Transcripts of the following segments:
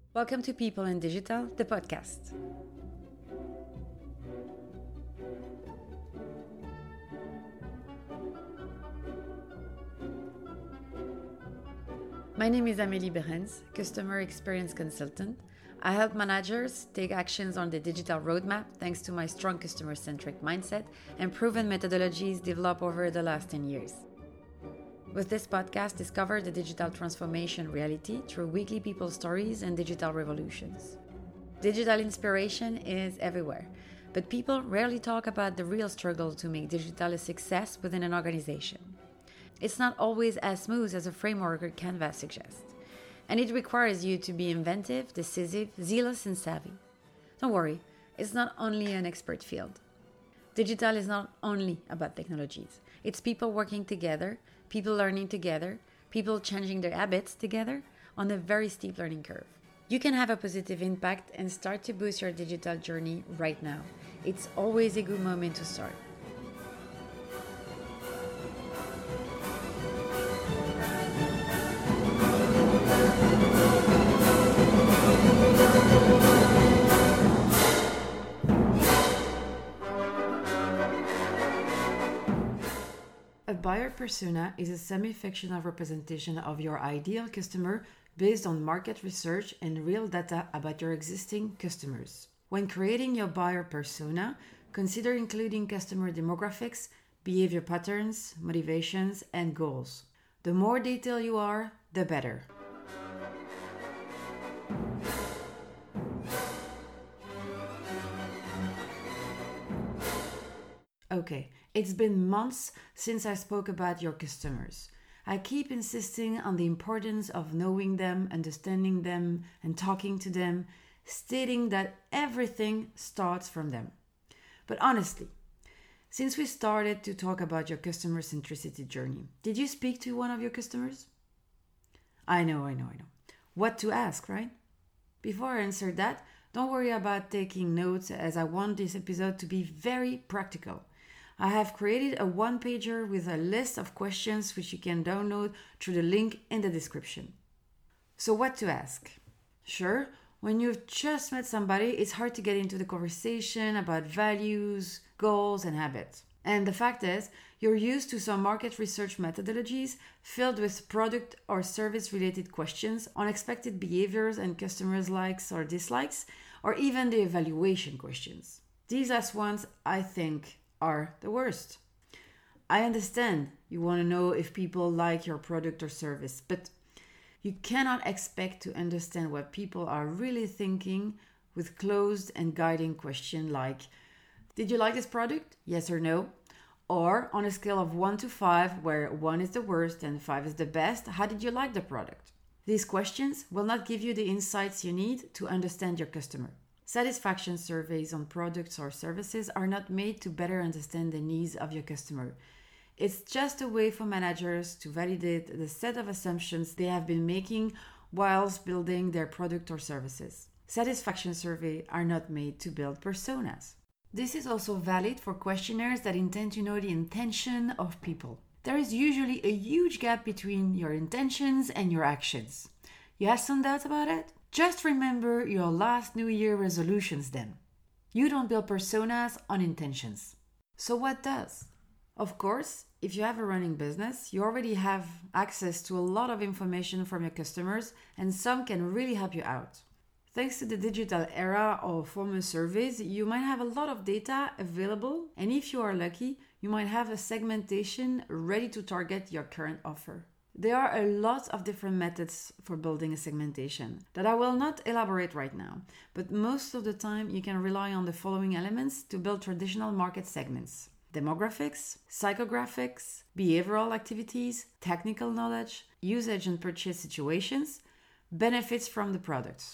Welcome to People in Digital, the podcast. My name is Amélie Behrens, Customer Experience Consultant. I help managers take actions on the digital roadmap thanks to my strong customer-centric mindset and proven methodologies developed over the last 10 years. With this podcast, discover the digital transformation reality through weekly people stories and digital revolutions. Digital inspiration is everywhere, but people rarely talk about the real struggle to make digital a success within an organization. It's not always as smooth as a framework or canvas suggests, and it requires you to be inventive, decisive, zealous, and savvy. Don't worry, it's not only an expert field. Digital is not only about technologies. It's people working together, people learning together, people changing their habits together on a very steep learning curve. You can have a positive impact and start to boost your digital journey right now. It's always a good moment to start. A buyer persona is a semi-fictional representation of your ideal customer based on market research and real data about your existing customers. When creating your buyer persona, consider including customer demographics, behavior patterns, motivations, and goals. The more detailed you are, the better. Okay, it's been months since I spoke about your customers. I keep insisting on the importance of knowing them, understanding them, and talking to them, stating that everything starts from them. But honestly, since we started to talk about your customer centricity journey, did you speak to one of your customers? I know. What to ask, right? Before I answer that, don't worry about taking notes as I want this episode to be very practical. I have created a one-pager with a list of questions which you can download through the link in the description. So what to ask? Sure, when you've just met somebody, it's hard to get into the conversation about values, goals, and habits. And the fact is, you're used to some market research methodologies filled with product or service-related questions, unexpected behaviors and customers' likes or dislikes, or even the evaluation questions. These last ones, I think, are the worst. I understand you want to know if people like your product or service, but you cannot expect to understand what people are really thinking with closed and guiding questions like, did you like this product? Yes or no? Or on a scale of 1 to 5, where 1 is the worst and 5 is the best, how did you like the product? These questions will not give you the insights you need to understand your customer. Satisfaction surveys on products or services are not made to better understand the needs of your customer. It's just a way for managers to validate the set of assumptions they have been making whilst building their product or services. Satisfaction surveys are not made to build personas. This is also valid for questionnaires that intend to know the intention of people. There is usually a huge gap between your intentions and your actions. You have some doubts about it? Just remember your last New Year resolutions then. You don't build personas on intentions. So what does? Of course, if you have a running business, you already have access to a lot of information from your customers, and some can really help you out. Thanks to the digital era or formal surveys, you might have a lot of data available, and if you are lucky, you might have a segmentation ready to target your current offer. There are a lot of different methods for building a segmentation that I will not elaborate right now, but most of the time you can rely on the following elements to build traditional market segments: demographics, psychographics, behavioral activities, technical knowledge, usage and purchase situations, benefits from the products.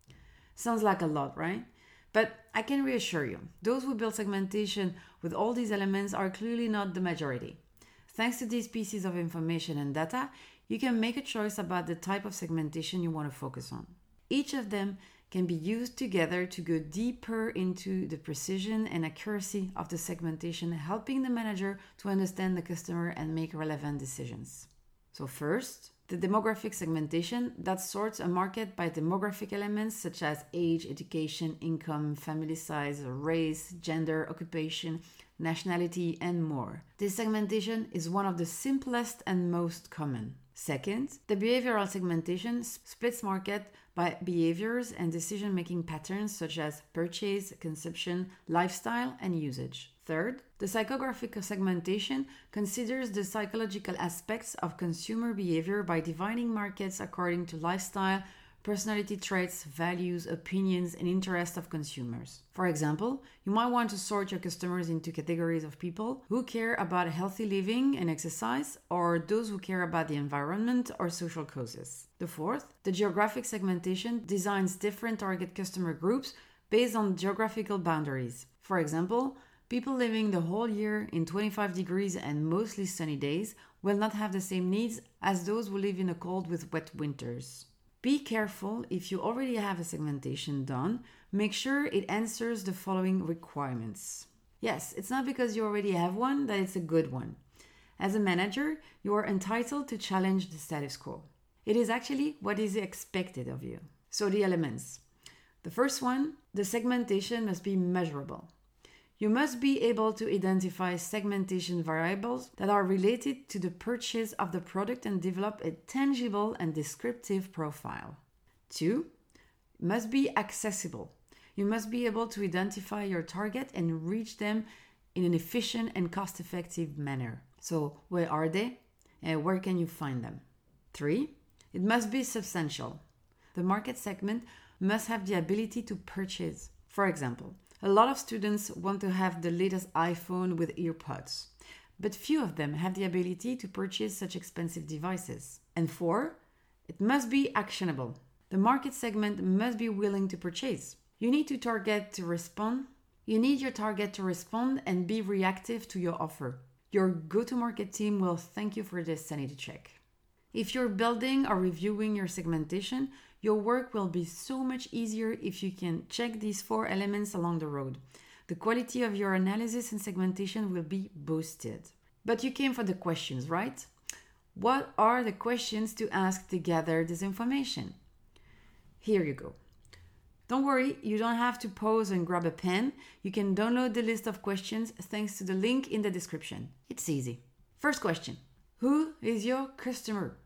Sounds like a lot, right? But I can reassure you, those who build segmentation with all these elements are clearly not the majority. Thanks to these pieces of information and data, you can make a choice about the type of segmentation you want to focus on. Each of them can be used together to go deeper into the precision and accuracy of the segmentation, helping the manager to understand the customer and make relevant decisions. So first, The demographic segmentation that sorts a market by demographic elements such as age, education, income, family size, race, gender, occupation, nationality, and more. This segmentation is one of the simplest and most common. Second, the behavioral segmentation splits market by behaviors and decision-making patterns such as purchase, consumption, lifestyle, and usage. Third, the psychographic segmentation considers the psychological aspects of consumer behavior by dividing markets according to lifestyle, personality traits, values, opinions, and interests of consumers. For example, you might want to sort your customers into categories of people who care about healthy living and exercise, or those who care about the environment or social causes. The fourth, the geographic segmentation designs different target customer groups based on geographical boundaries. For example, people living the whole year in 25 degrees and mostly sunny days will not have the same needs as those who live in a cold with wet winters. Be careful if you already have a segmentation done, make sure it answers the following requirements. Yes, it's not because you already have one that it's a good one. As a manager, you are entitled to challenge the status quo. It is actually what is expected of you. So the elements. The first one, the segmentation must be measurable. You must be able to identify segmentation variables that are related to the purchase of the product and develop a tangible and descriptive profile. 2. It must be accessible. You must be able to identify your target and reach them in an efficient and cost-effective manner. So, where are they and where can you find them? 3. It must be substantial. The market segment must have the ability to purchase. For example, a lot of students want to have the latest iPhone with earpods, but few of them have the ability to purchase such expensive devices. And 4, it must be actionable. The market segment must be willing to purchase. You need your target to respond and be reactive to your offer. Your go-to-market team will thank you for this sanity check. If you're building or reviewing your segmentation, your work will be so much easier if you can check these 4 elements along the road. The quality of your analysis and segmentation will be boosted. But you came for the questions, right? What are the questions to ask to gather this information? Here you go. Don't worry, you don't have to pause and grab a pen. You can download the list of questions thanks to the link in the description. It's easy. First question. Who is your customer?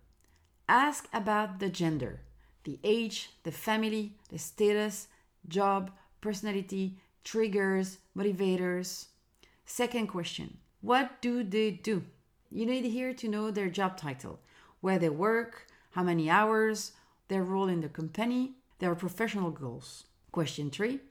Ask about the gender, the age, the family, the status, job, personality, triggers, motivators. Second question. What do they do? You need here to know their job title, where they work, how many hours, their role in the company, their professional goals. Question 3.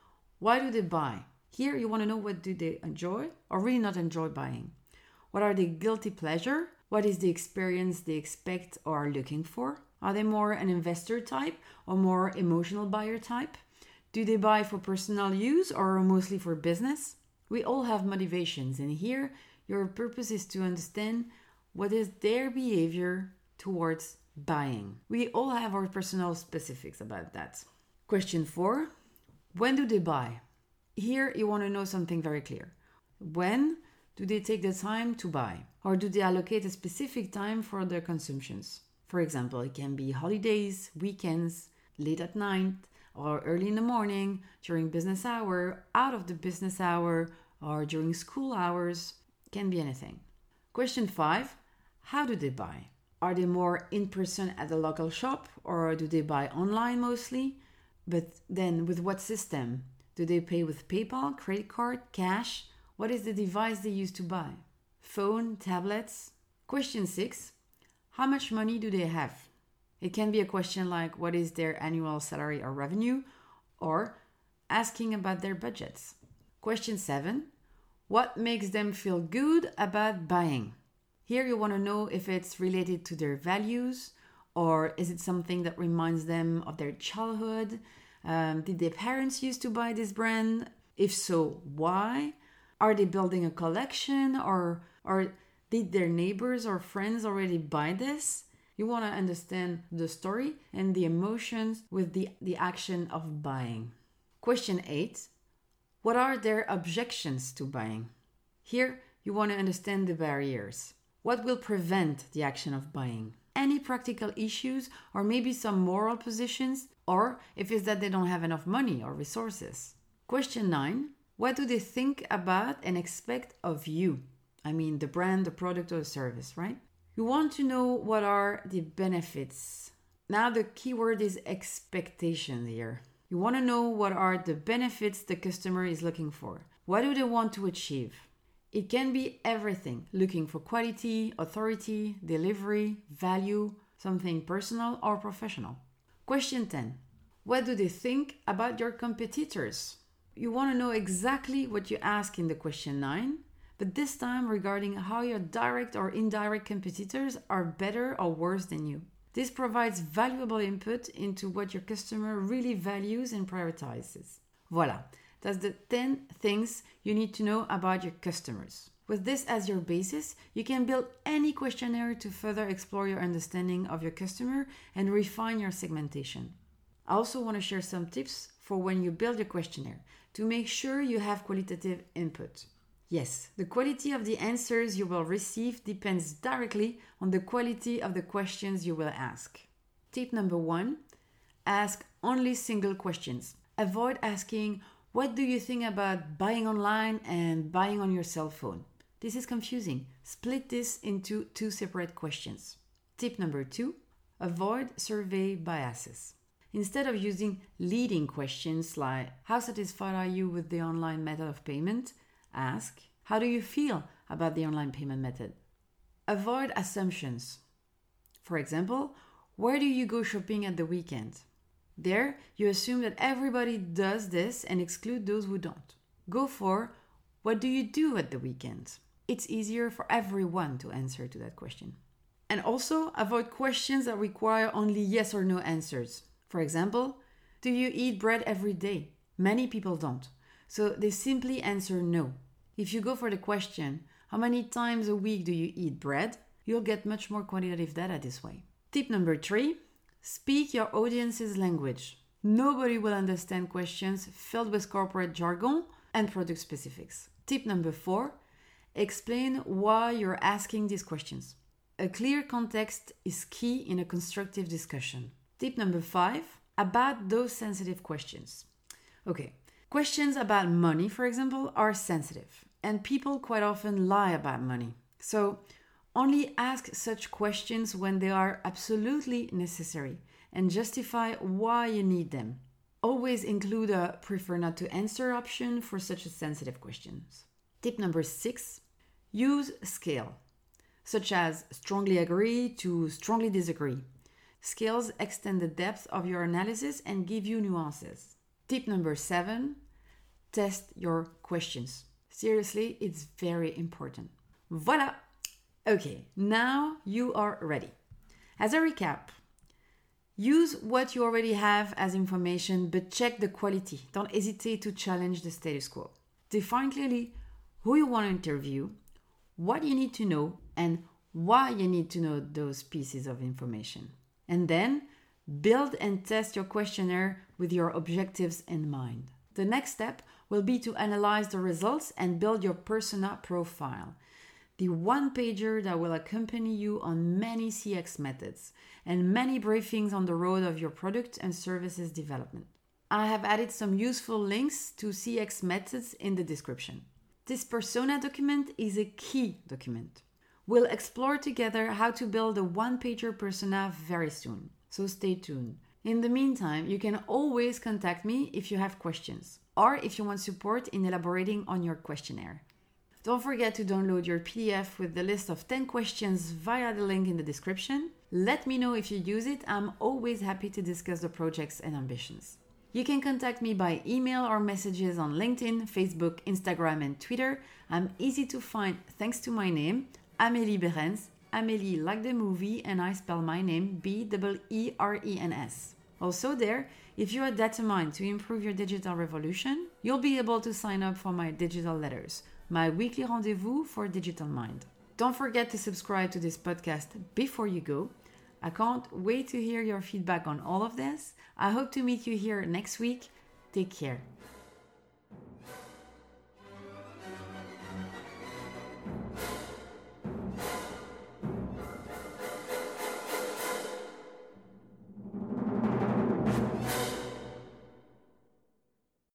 Why do they buy? Here you want to know what do they enjoy or really not enjoy buying. What are their guilty pleasure? What is the experience they expect or are looking for? Are they more an investor type or more emotional buyer type? Do they buy for personal use or mostly for business? We all have motivations, and here your purpose is to understand what is their behavior towards buying. We all have our personal specifics about that. Question 4. When do they buy? Here you want to know something very clear. When do they take the time to buy? Or do they allocate a specific time for their consumptions? For example, it can be holidays, weekends, late at night, or early in the morning, during business hour, out of the business hour, or during school hours. Can be anything. Question 5. How do they buy? Are they more in person at the local shop, or do they buy online mostly? But then with what system? Do they pay with PayPal, credit card, cash? What is the device they use to buy? Phone, tablets? Question 6. How much money do they have? It can be a question like what is their annual salary or revenue, or asking about their budgets. Question 7. What makes them feel good about buying? Here you want to know if it's related to their values, or is it something that reminds them of their childhood? Did their parents used to buy this brand? If so, why? Are they building a collection, or did their neighbors or friends already buy this? You want to understand the story and the emotions with the action of buying. Question 8. What are their objections to buying? Here, you want to understand the barriers. What will prevent the action of buying? any practical issues or maybe some moral positions, or if it's that they don't have enough money or resources. Question 9. What do they think about and expect of you? I mean, the brand, the product, or the service, right? You want to know what are the benefits. Now, the keyword is expectation here. You want to know what are the benefits the customer is looking for. What do they want to achieve? It can be everything, looking for quality, authority, delivery, value, something personal or professional. Question 10. What do they think about your competitors? You want to know exactly what you ask in the question 9, but this time regarding how your direct or indirect competitors are better or worse than you. This provides valuable input into what your customer really values and prioritizes. Voila, that's the 10 things you need to know about your customers. With this as your basis, you can build any questionnaire to further explore your understanding of your customer and refine your segmentation. I also want to share some tips for when you build your questionnaire to make sure you have qualitative input. Yes, the quality of the answers you will receive depends directly on the quality of the questions you will ask. Tip number 1, ask only single questions. Avoid asking, what do you think about buying online and buying on your cell phone? This is confusing. Split this into 2 separate questions. Tip number 2, avoid survey biases. Instead of using leading questions like, how satisfied are you with the online method of payment? Ask, how do you feel about the online payment method? Avoid assumptions. For example, where do you go shopping at the weekend? There, you assume that everybody does this and exclude those who don't. Go for, what do you do at the weekend? It's easier for everyone to answer to that question. And also, avoid questions that require only yes or no answers. For example, do you eat bread every day? Many people don't. So they simply answer no. If you go for the question, how many times a week do you eat bread? You'll get much more quantitative data this way. Tip number 3, speak your audience's language. Nobody will understand questions filled with corporate jargon and product specifics. Tip number 4, explain why you're asking these questions. A clear context is key in a constructive discussion. Tip number 5, about those sensitive questions. Okay. Questions about money, for example, are sensitive, and people quite often lie about money. So only ask such questions when they are absolutely necessary and justify why you need them. Always include a prefer not to answer option for such sensitive questions. Tip number 6, use scale, such as strongly agree to strongly disagree. Scales extend the depth of your analysis and give you nuances. Tip number 7, test your questions. Seriously, it's very important. Voila! Okay, now you are ready. As a recap, use what you already have as information, but check the quality. Don't hesitate to challenge the status quo. Define clearly who you want to interview, what you need to know, and why you need to know those pieces of information. And then build and test your questionnaire with your objectives in mind. The next step will be to analyze the results and build your persona profile, the one-pager that will accompany you on many CX methods and many briefings on the road of your product and services development. I have added some useful links to CX methods in the description. This persona document is a key document. We'll explore together how to build a one-pager persona very soon, so stay tuned. In the meantime, you can always contact me if you have questions or if you want support in elaborating on your questionnaire. Don't forget to download your PDF with the list of 10 questions via the link in the description. Let me know if you use it. I'm always happy to discuss the projects and ambitions. You can contact me by email or messages on LinkedIn, Facebook, Instagram, and Twitter. I'm easy to find thanks to my name, Amélie Berens. Amélie like the movie, and I spell my name B-E-E-R-E-N-S. Also there, if you are determined to improve your digital revolution, you'll be able to sign up for my digital letters, my weekly rendezvous for Digital Mind. Don't forget to subscribe to this podcast before you go. I can't wait to hear your feedback on all of this. I hope to meet you here next week. Take care.